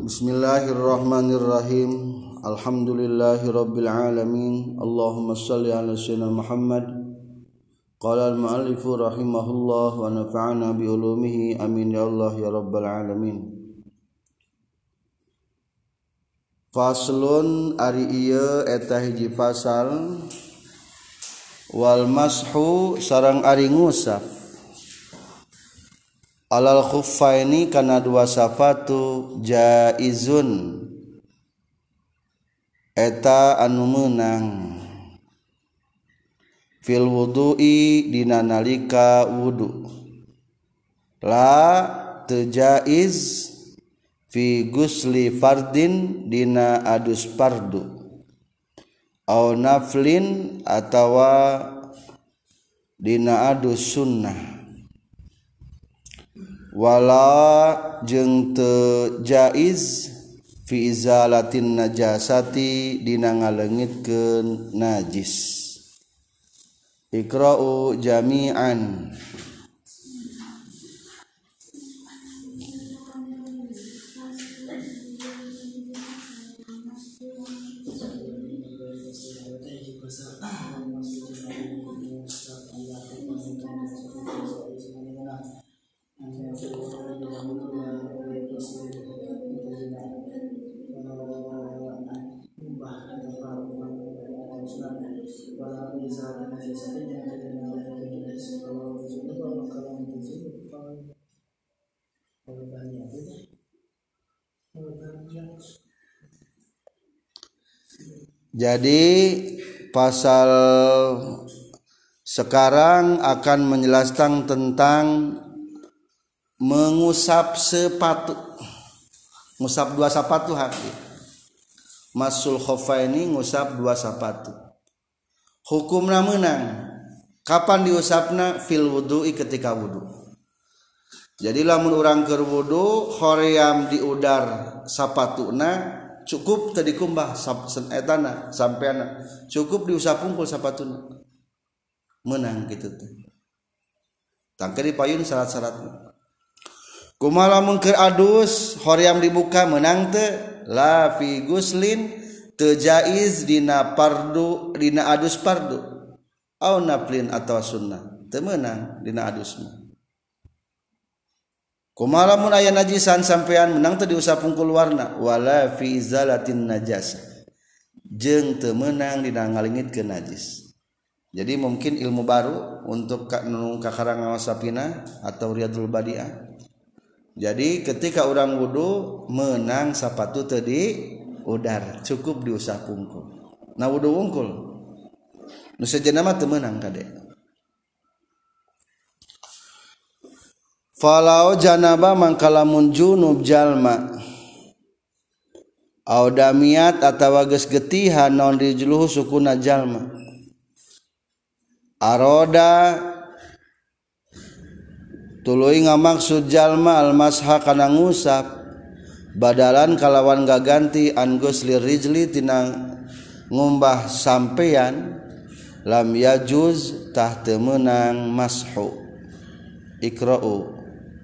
Bismillahirrahmanirrahim. Alhamdulillahirabbil alamin. Allahumma shalli ala sayyidina Muhammad. Qala al-muallifu rahimahullah wa nafa'ana bi ulumihi amin ya Allah ya rabbal alamin. Faslun ari ieu eta hiji fasal wal mashu sareng ari ngusap alal khuffaini kana dua sapatu jaizun eta anu meunang fil wudu'i dina nalika wudu la teu jaiz fi gusli fardin dina adus fardu au naflin atawa dina adus sunnah wala jeung teu jaiz fi izalatin najasati dina ngaleungitkeun najis. Iqra'u jami'an. Jadi pasal sekarang akan menjelaskan tentang mengusap sepatu. Ngusap dua sepatu haki. Masul khuffaini ngusap dua sepatu. Hukumna meunang. Kapan diusapna? Fil wudu'i ketika wudu. Jadi lamun urang keur wudu hoream diudar sapatuna cukup tadi kumbah etana sampeana cukup diusap pungkul sapatuna menang gitu teh tangke dipayun syarat-syaratna kumaha lamun keur adus hoream dibuka menang teu la fi guslin teu jaiz dina fardu dina adus fardu au naflin atawa sunnah teu meunang dina adusna. Kumaha lamun aya najisan sampean menang teu diusap pungkul luarna wala fi izalatin najasa jeung teu meunang dina ngaleungitkeun najis. Jadi mungkin ilmu baru untuk nu kakarang ngawasapina atau riyadul badiah. Jadi ketika orang wudu meunang sapatu teu diudar cukup diusap pungkul. Nah wudu wungkul nu sejenna mah teu meunang kade. Falau janaba mangkalamun junub jalma au damiat atawa geus getihan naon rijluhu sukuna jalma aroda tuluy ngamaksud jalma almasha kana ngusap badalan kalawan gaganti an gusli rijli tina ngumbah sampean lam yajuz tah teu meunang mashu. Iqra'u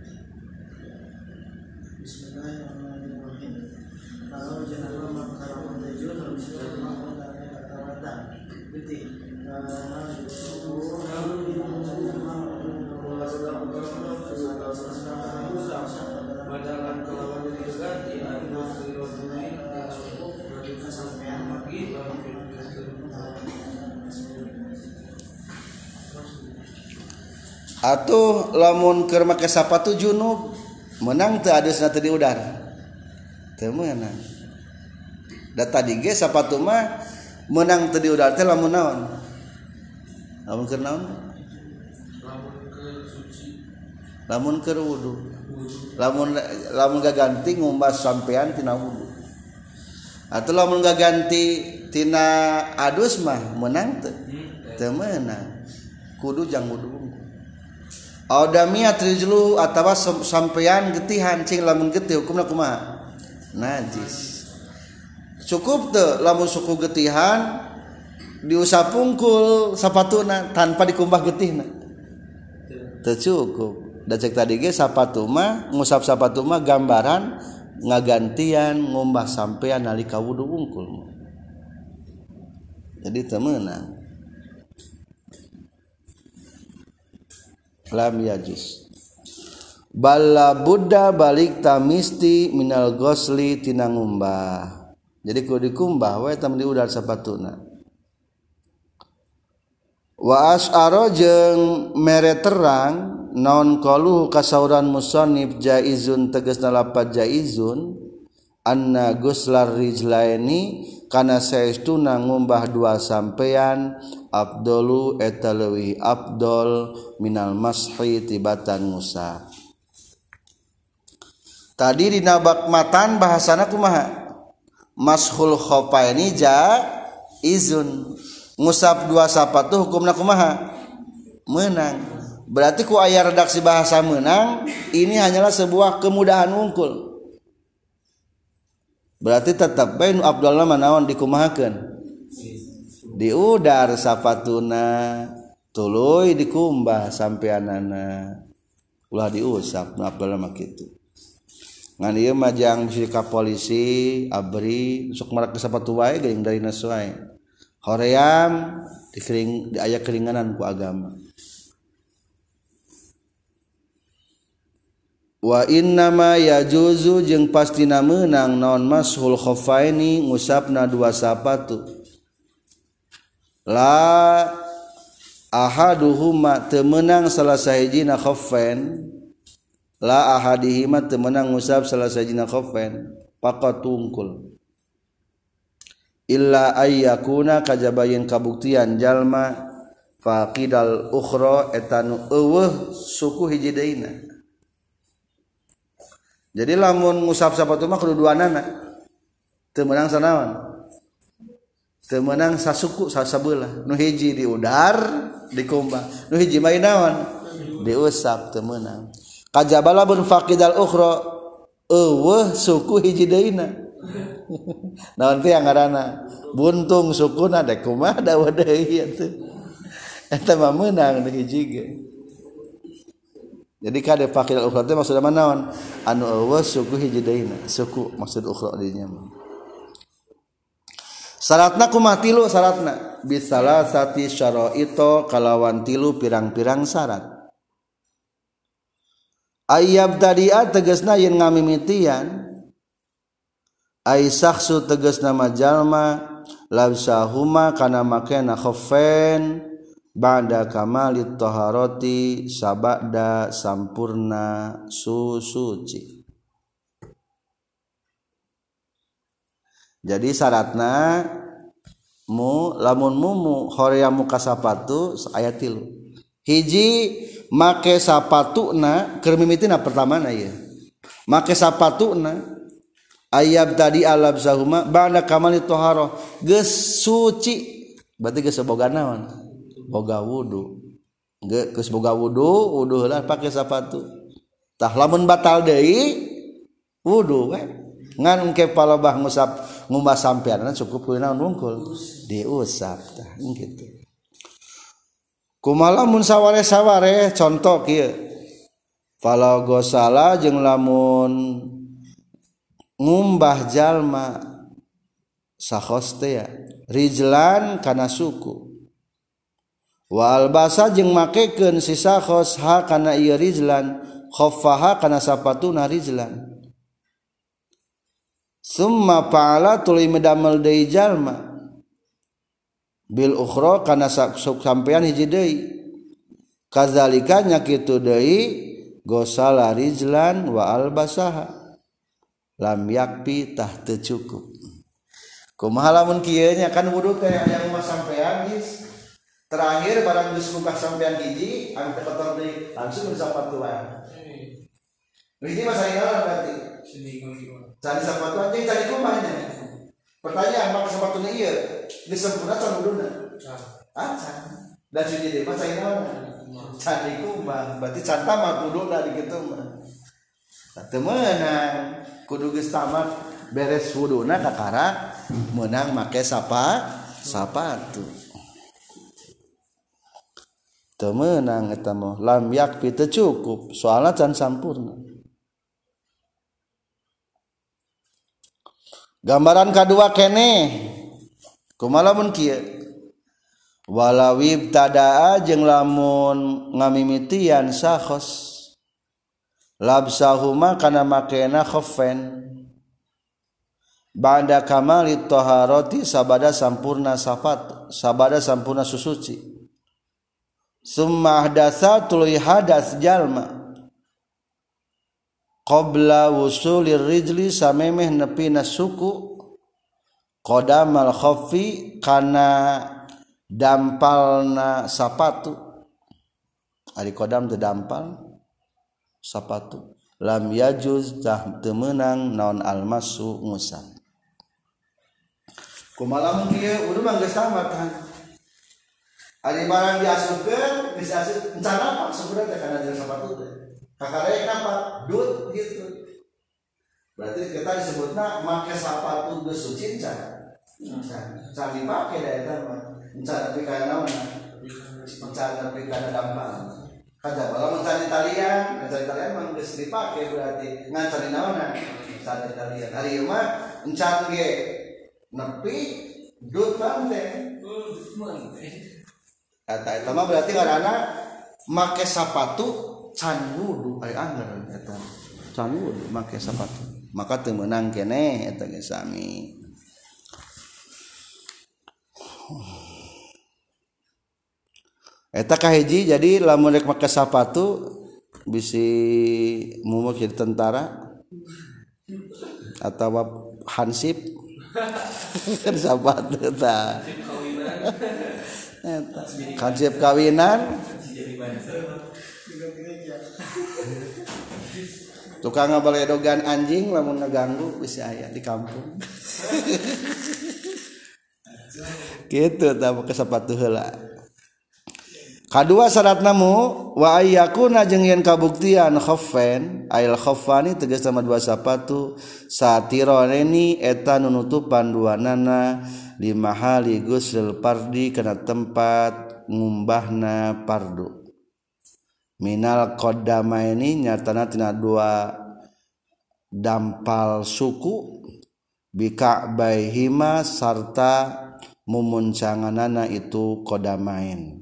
atuh lamun keur make sapatu junub menang teu adusna teu diudar teu meunang da tadi ge sapatu mah menang teu diudar teh lamun naon lamun keur naon lamun keur wudu lamun gaganti ngumbah sampean tina wudu atuh lamun gaganti tina adus mah menang teu meunang kudu jang wudu audamiat rijlu atawa sampean getihan cing lamun getih hukumna kumaha najis cukup teu lamun suku getihan diusap pungkul sapatuna tanpa dikumbah getihna teu cukup da cek tadi ge sapatu mah ngusap sapatu mah gambaran ngagantian ngumbah sampean nalika wudu wungkul. Jadi teu meunang. Lam yajuz. Balla budda balik tamisti minal ghusli tina ngumbah. Jadi kudu dikumbah we tam diudar sapatuna. Wa asyara jeung mere terang naon qalu kasauran musannif jaizun tegasna lapat jaizun anna guslar rijlaini kana saestuna ngumbah dua sampean afdalu eta leuwih afdol minal mashi tibatan ngusap. Tadi dina bab matan bahasana kumaha? Mashul khofaini jaizun. Ngusap dua sapatu hukumna kumaha? Menang. Berarti ku aya redaksi bahasa menang, ini hanyalah sebuah kemudahan wungkul. Berarti tetap bae nu afdalna manaon dikumahakeun? Diudar sapatuna, tuluy dikumbah sampeanana. Ulah diusap nu afdalna mah kitu. Ngan ieu mah jang bisi ka polisi, abri, sok marak ke sapatu wae geuning dari nasuai. Hoream di aya keringanan ku agama. Wa innama yajuzu jeung pastina meunang naon mashul khoffaini ngusapna dua sapatu. La ahaduhuma teu meunang salah sahijina khoffain. La ahadihima teu meunang ngusap salah sahijina khoffain. Faqat tungkul. Illa ayyakuna kajabayin kabuktian jalma faqidal ukhra etanu eueuh suku hiji deuna. Jadi lamun ngusap sapatu mah kudu duanana. Teu meunang sanaon? Teu meunang sasuku sasabeula. Nu hiji diudar, dikumbah. Nu hiji mah naon? Diusap teu meunang. Kajabala bun faqidal ukhra eueuh suku hiji deuna. Naon teh ngaranna buntung sukuna dek kumaha dawa deui atuh eta mah meunang nu hiji ge. Jadi kade faqil ukhra teh maksudna naon anu eueuh suku hiji deuna suku maksud ukhra dinya mah. Syaratna kumaha tilu syaratna bisalasati syara'ito kalawan tilu pirang-pirang syarat. Ayyab tadi'a tegasna yen ngamimitian ai saksu tegas nama jalma labsahuma kana makena khoffain ba'da kamalit taharati sabada sampurna suci. Jadi syaratna lamun mumu hoream muka sapatu aya tilu. Hiji make sapatuna keur mimitina pertamana ieu. Make sapatuna ayab tadi alabzahuma ba'da kamali toharoh geus suci berarti geus boga naon boga wudu geus boga wudu heula pake sapatu tah lamun batal deui wudu we ngan engke palebah ngumbah sampean cukup ku naon wungkul diusap tah kitu kumaha mun saware-saware contoh kieu fala gosala jeung lamun ngumbah jalma sakhos teh rijlan kana suku wa albasa jeung makekeun si sakhos ha kana ieu rijlan khaffaha kana sapatuna rijlan summa fa'ala tuluy medamel deui jalma bil ukhra kana sampean hiji deui kadzalika nya kitu deui gosala rijlan wa albasaha lam yakfi tah teu cukup. Kumaha lamun kieu nya kan wudu teh aya rumah sampean geus terakhir barang geus muka sampean hiji anu teh kotor deui langsung disapatu wae. Hiji mah saenaon berarti? Cari sapatu anjing cari kumahnya. Pertanyaan maka sapatuna ieu geus sempurna can wuduna? Can. Dan suci deui mah saenaon? Cari kumah berarti can tamat wuduna di kitu mah. Teu meunang kudu geus tamat beres wuduna kakara meunang make sapatu teu meunang eta mah lam yakfi teu cukup soalna can sampurna Gambaran kedua kene kumaha mun kieu walawib tadaa jeung lamun ngamimitian sakhos labsahuma kana makena khaffain ba'da kamali taharati sabada sampurna susuci summa ahdatsa tuluy hadas jalma qabla wusulir rijli samemeh nepina suku qadamal khaffi kana dampalna sapatu ari qadam teu dampal sapatu lam yajuz tah teu meunang naon almasu ngusap kumaha mun kieu udah mah geus tamat kan ari barang diasupkeun geus asup encana apa sebenarnya kana jeung sapatu teh kakarek apa dut gitu berarti kita disebutna make sapatu geus suci can dipake da eta mah encan tapi kana naon encan tapi kana dampal kada bala mencari talian mah geus dipake berarti ngan cari naonna cari talian hari mah encan ge nepi dut teh eta mah berarti ngaranna make sapatu can wudu ari anggar eta can wudu make sapatu maka teu meunang keneh eta ge sami. Eta kahiji jadi lamun rek make sapatu bisi mumuk jadi tentara atau hansip kan sapatu ta eta hansip kawinan tukang ngabaledogan anjing lamun ngaganggu bisa aya di kampung gitu tah make sapatu heula. Kadua syarat namu wa ayyakuna jeung yen kabuktian khaffain ail khaffani tegas sama dua sapatu satironi eta nunutupan duanana di mahali ghusl pardi kana tempat ngumbahna pardu minal qaddamaini nyatana tina dua dampal suku bika'baihima sarta mumuncanganana itu qadamain.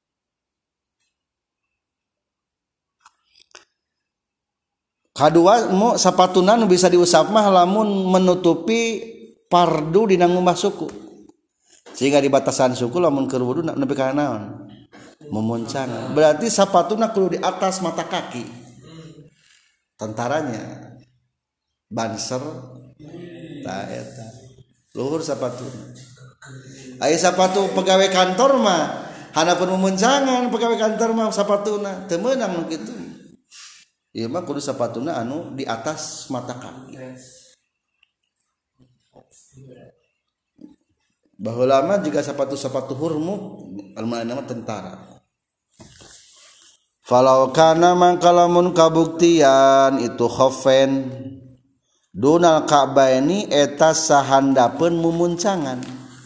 Kadua mu sapatuna nu bisa diusap mah lamun menutupi pardu dina ngumbah suku. Sehingga di batasan suku lamun keur wudu nepi ka naon? Memuncang. Berarti sapatuna kudu di atas mata kaki. Tentaranya banser ta eta. Luhur sapatuna. Aya sapatu pegawai kantor mah hanapun memuncangan pegawai kantor mah sapatuna teu meunang nu kitu. Ieu mah kudu sapatuna anu di atas mata kaki. Baheula mah juga sapatu-sapatu hurmu almana mah tentara. Falau kana mangkalamun kabuktian itu khaffain dunal ka'baini eta sahandapeun mumuncangan.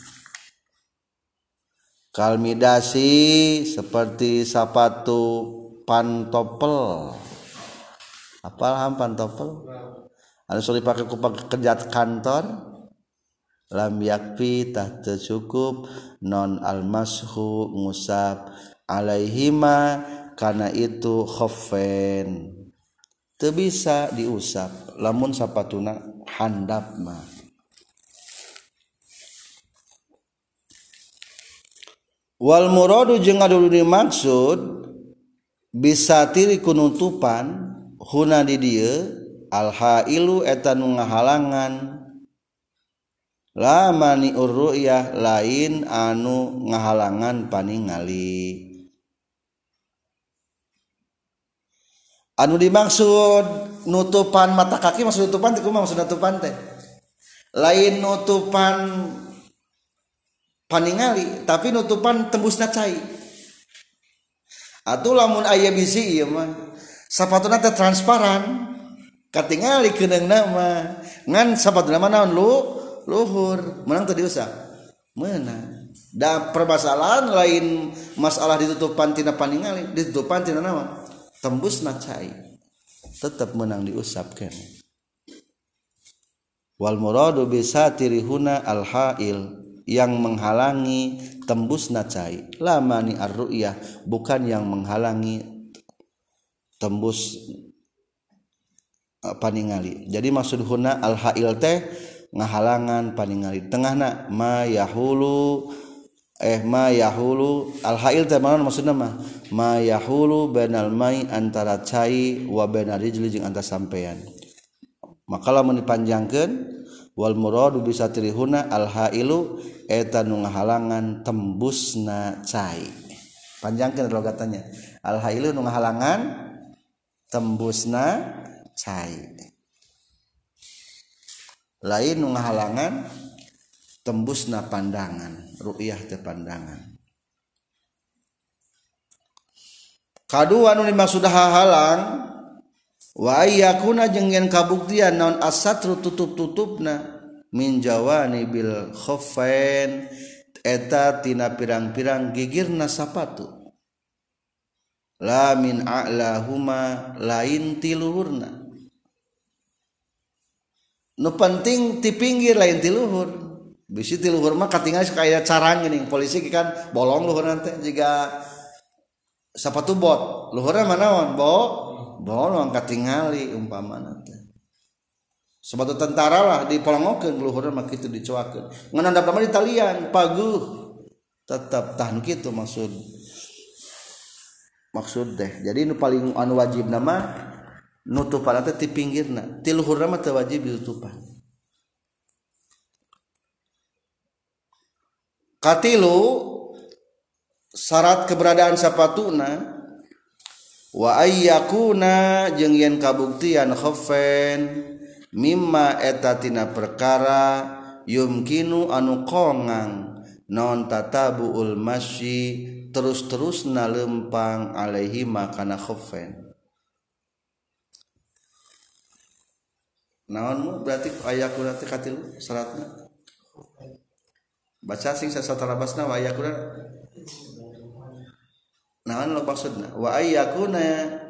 Kalmidasi seperti sapatu pantopel. Apal pantopel anu sok dipake ku pekerja kantor lam yakfi tah teu cukup non almashu ngusap alaihima kana itu khaffain teu bisa diusap lamun sapatuna handap mah. Wal muradu jeung adu dimaksud bisa tiri kunutupan huna di dieu al hailu eta nu ngahalangan la mani urru'yah lain anu ngahalangan paningali. Anu dimaksud nutupan mata kaki maksud nutupan teh kumaha maksud nutupan teh lain nutupan paningali tapi nutupan tembusna cai atuh lamun aya bisi ieu mah sapatuna teh transparan katingali keuningna mah ngan sapatuna mah naon luhur meunang teu diusap meunang da permasalahan lain masalah ditutupan tina paningali ditutupan tina naon tembusna cai tetep meunang diusap keneh. wal muradu bisatirihuna al hail yang menghalangi tembusna cai lamani ar-ru'yah bukan yang menghalangi tembus paningali. Jadi maksud huna al hail teh ngahalangan paningali tengahna ma yahulu al hail teh mana maksudna ma yahulu bainal mai antara cai wa bainar rijli jeung antara sampean. Maka lamun dipanjangkeun wal muradu bisatirihuna al hailu eta nu ngahalangan tembusna cai. Panjangkeun logatanya. Al hailu nu ngahalangan tembusna cai. Lain nu ngahalangan tembusna pandangan, ru'yah teh pandangan. Kadua nu dimaksud halang wa ayyakuna jeung yen kabuktian naon asatru tutup-tutupna min jawani bil khuffain eta tina pirang-pirang gigirna sapatu la min a'lahuma lain ti luhurna nu penting ti pinggir lain ti luhur bisi ti luhur mah katingal kaya carang geuning polisi kan bolong luhurna teh jiga sapatu bot luhurna manaon bolong katingali umpamana teh sepatu tentara lah dipolongokeun luhurna mah kitu dicoakeun ngan handap mah di talian paguh tetep tah nu kitu maksud teh. Jadi nu paling anu wajib nama nutupan teh ti pinggirna ti luhurna mah teu wajib ditutupan. Katilu syarat keberadaan sapatuna wa ayyakuna jeung yen kabuktian khaffain mimma eta tina perkara yumkinu anu kongang non tatabuul masyi terus-terusna lempang alaihi makana khaffain. Naon berarti ayyakuna teh katilu syaratna baca sing sasatarabasna wa ayyakuna naon lo maksudna wa ayyakuna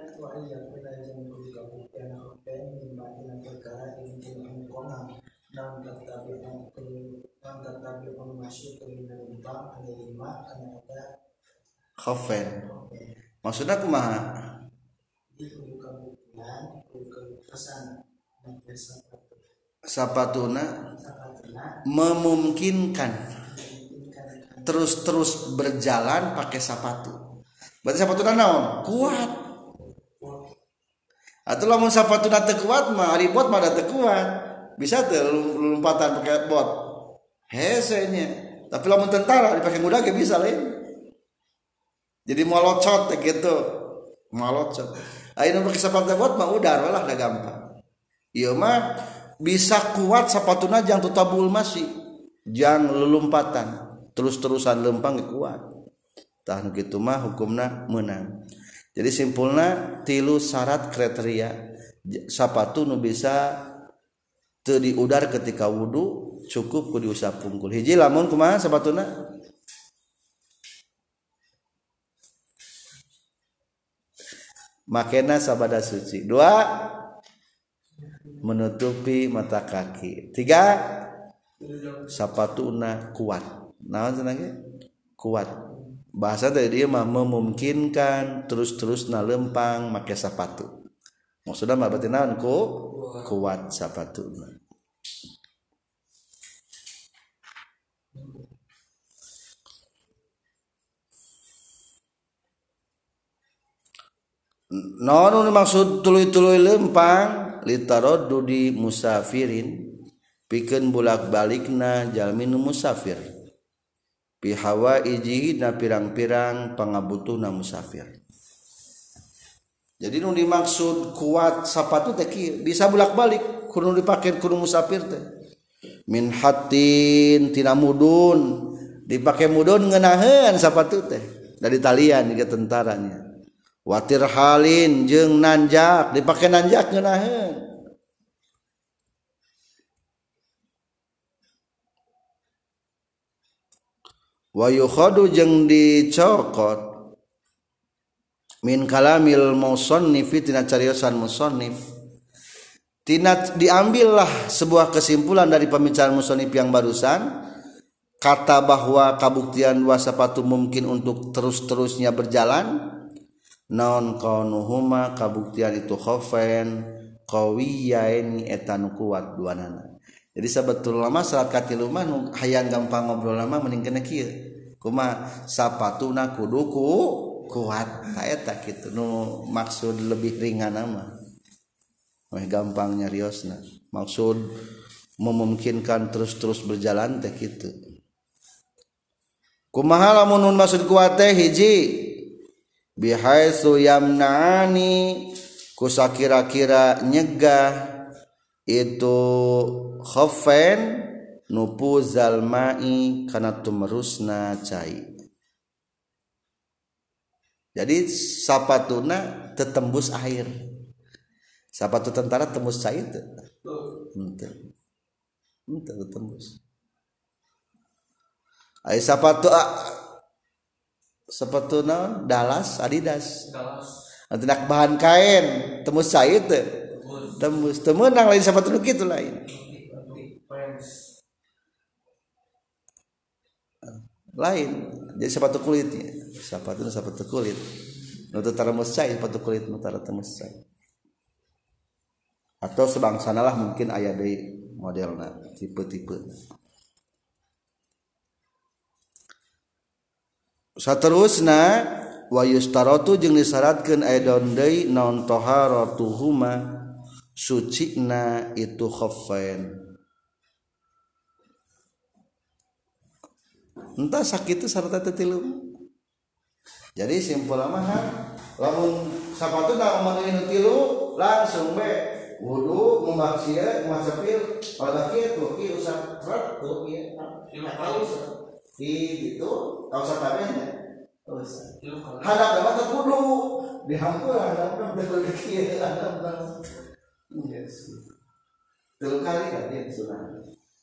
khaffain maksudna kumaha sapatuna memungkinkan terus berjalan pakai sepatu. Berarti sepatuna naon? Kuat. Atau lamun sepatuna teu kuat mah ari bot mah teu kuat. Bisa teu lompatan pakai bot. Hese nya. Tapi lamun tentara dipakai mudah ge bisa lain. Jadi molocot teh gitu. Molocot. Ayeuna pakai sepatu bot mah udar walah da gampang. Ieu mah bisa kuat sepatuna jang tutabul masih jang lelumpatan. Terus-terusan lempang kuat. Tah nu kitu mah hukumna meunang. Jadi simpulna tilu syarat kriteria sapatu nu bisa teu diudar ketika wudu cukup ku diusap pungkul. Hiji lamun kumaha sapatuna? Makena sabada suci. 2 menutupi mata kaki. 3 sapatuna kuat. Naon cenah ge? Kuat. Bahasa tadi dia mah memungkinkan terus-terusna lempang make sepatu. Maksudna mah berarti naon kuat sepatuna. Naon nu maksud tuluy-tuluy lempang litaroddudi musafirin pikeun bolak-balikna jalmi nu musafir. Pi hawaiji na pirang-pirang pangabutuhna musafir. Jadi nu dimaksud kuat sapatu teh bisa bolak-balik kudu dipake kudu musafir teh. Min hatin tina mudun dipake mudun ngeunaheun sapatu teh dari talian ke tentaranya. Watir halin jeung nanjak dipake nanjak ngeunaheun. Wa yukhadu jeung dicokot min kalamil musannif tina cariosan musannif Diambillah sebuah kesimpulan dari pembicaraan musannif yang barusan, kata bahwa kabuktian dua sepatu mungkin untuk terus-terusnya berjalan, naon kaunuhuma kabuktian itu khofen qawiyaini eta nu kuat duanana. Jadi sebetulnya mah salat katilu mah hayang gampang ngobrol mah mending kana kieu. Kumaha sapatuna kudu kuat. Ka eta kitu nu maksud lebih ringan mah. Wah gampang nyariosna. Maksud memungkinkan terus-terus berjalan teh kitu. Kumaha lamun maksud kuat teh hiji bihaitsu yamna'ani kusakira-kira nyegah itu khofen nupuzal ma'i kana tumrusna cai. Jadi sapatuna tetembus air. Sapatu tentara tembus cai teu? Henteu tembus. Ai sepatu naon? Dallas, Adidas. Tidak bahan kain, tembus cai teu? Tembus. Teu meunang lain sepatu nu kitu lain. Lain. Jadi sepatu kulitnya. Sepatu kulit. Nu teu tembus cai, sepatu kulit nu tembus cai. Atau sebangsanalah mungkin aya deui modelna, tipe-tipe. Saterusna wa yustaratu jeung disyaratkeun aidon deui naon taharatuhuma sucina itu khaffain. Entah sakitu sarta teu tilu. Jadi simpul mah lamun sapatuna umurna tilu langsung we wudu membaksieun masapil pada kitu ieu usah rek tuh ieu gitu kau satabehnya terus hadap dapat kudu dihampur hadap betul kieu hadap yes telu kali kan dia sunah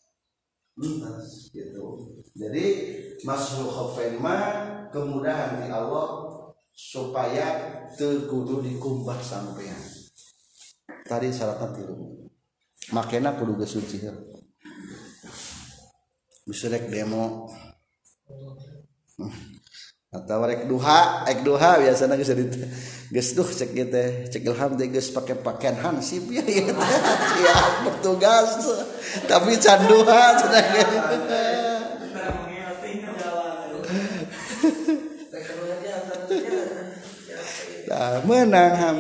gitu. Jadi masuk khafain mah kemudahan di Allah supaya teu kudu dikumbah sampean. Tadi syaratna tilu. Makena kudu geus suci. Bisa rek demo. Atau rek duha biasana geus duh cek ieu teh, cek Ilham teh geus pake pakaian hansip ya ieu teh. Siap bertugas. Tapi can duha cenah ge. Tah meunang ham.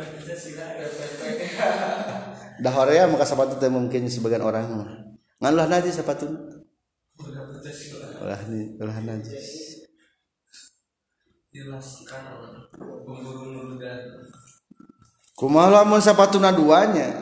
Dah horea maka sepatu teh mungkin sebagian orang ngan ulah najis sepatu. Ulah najis. Jelaskan pemburu nurdan. Kumaha lamun sapatuna duanya?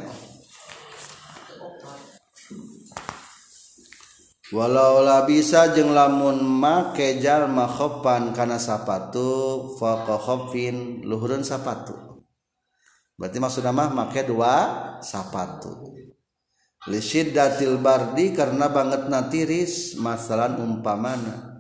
Walau la bisa jeung lamun make jalma khopan kana sapatu faqa khofin luhureun sapatu. Berarti maksudna mah make dua sapatu. Li syiddatil bardi karena bangetna tiris, masalan umpamana.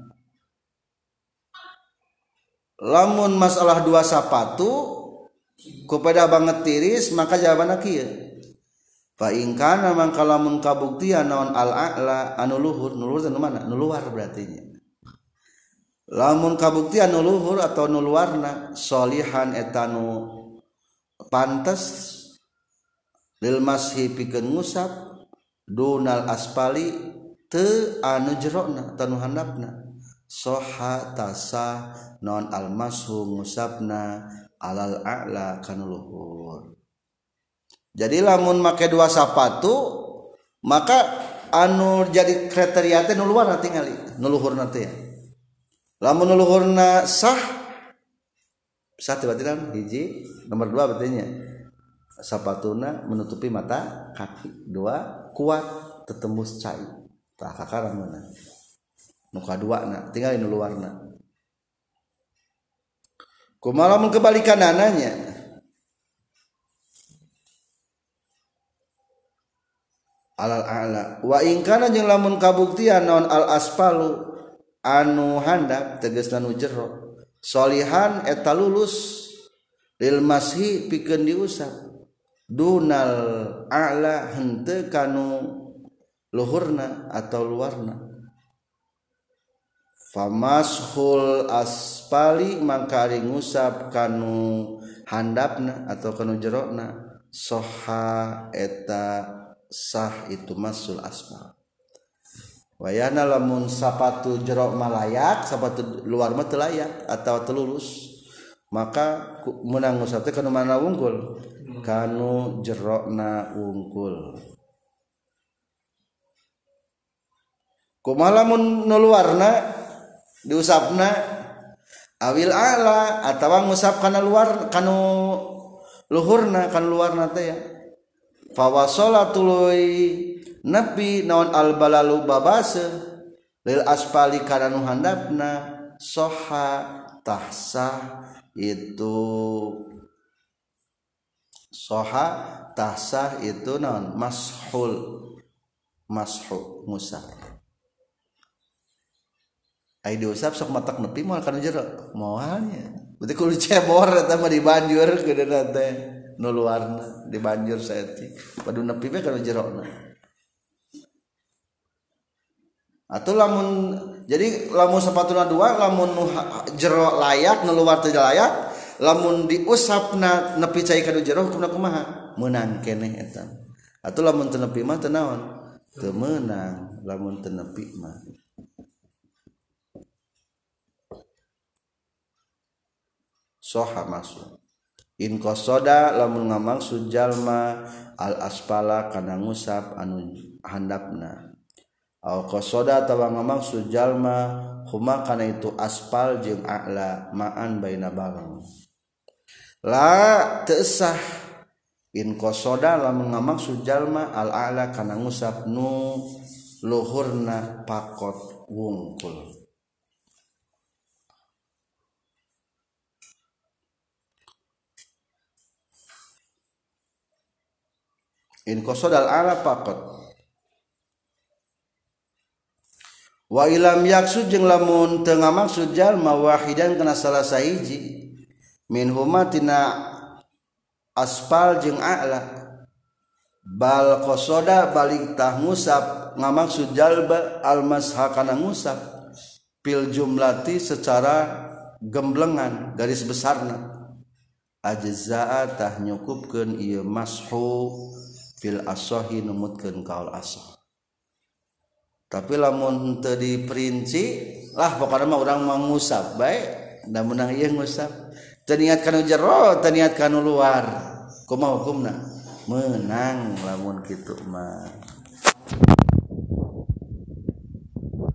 Lamun masalah dua sapatu kepada banget tiris maka jawabanna kieu. Fa in kana mangka lamun kabuktian naon al-a'la anu luhur, luhur teh mana? Nu luar berarti nya. Lamun kabuktian nu luhur atau nu luarna sholihan eta nu pantes lil mashi pikeun ngusap dunal aspali teu anu jerona tanu handapna soha tasa non al mashu ngusapna alal a'la kana luhur. Jadi lamun make dua sapatu maka anu jadi kriteria teh nu luarna tingali nu luhurna teh. Lamun nu luhurna sah berarti kan hiji nomor 2 berarti nya sapatuna menutupi mata kaki, 2 kuat tetembus cai tah kakara mana nu kaduana tinggal nu luarna. Kumaha mun kebalikanana nya alal a'la wa in kana jeung lamun kabuktian naon al aspalu anu handap tegasna nu jero sholihan eta lulus lil mashi pikeun diusap dunal a'la henteu kanu luhurna atau luarna. Famashul aspali mangka ari ngusap kanu handapna atau kanu jerona soha eta sah itu masul aspal. Wayana lamun sapatu jero malayak, sapatu luar mah teu layak atau teu lulus, maka meunang ngusap teh kanu mana wungkul? Kanu jerona wungkul. Kumaha lamun nu luarna diusapna awil ala atawa ngusap kana luar kanu luhurna kan luarna teh ya. Fa wasala tuluy nepi naon al balalu babase lil aspali kana nu handapna soha tahsah itu soha tahsah itu naon mashu ngusap ai diusap sok matak nepi moal kana jero moalnya berarti kudu cebor eta mah dibanjur keudeunan teh nu luarna dibanjur saeutik padu nepi we kana jerona. Atau lamun jadi lamun sepatuna dua lamun jero layak nu luar teu layak lamun diusapna nepi cai ka jero hukumna kumaha meunang keneh eta. Atau lamun teu nepi mah teu naon teu meunang lamun teu nepi mah. Soha masuk in qasoda lamun ngamaksud jalma al aspala kana ngusap anu handapna. Au qasoda tawa ngamaksud jalma huma kana itu aspal jeung a'la ma'an baina barang la teu sah in qasoda lamun ngamaksud jalma al a'la kana ngusap nu luhurna pakot wungkul. In qasoda al a'la pakot wa ilam yaksud jeung lamun teu ngamaksud jalma wahidan kana salah sahiji min huma tina aspal jeung a'la bal qasoda balik tah ngusap ngamaksud jalba al masha kana ngusap pil jumlati secara gemblengan garis besarna ajzaa tah nyukupkeun ieu mashu fil asahi numutkeun kaul asah. Tapi lamun teu diperinci lah pokona mah urang mah ngusap bae da meunang ieu ngusap teu niat kana jero teu niat kana luar kumaha hukumna meunang lamun kitu mah.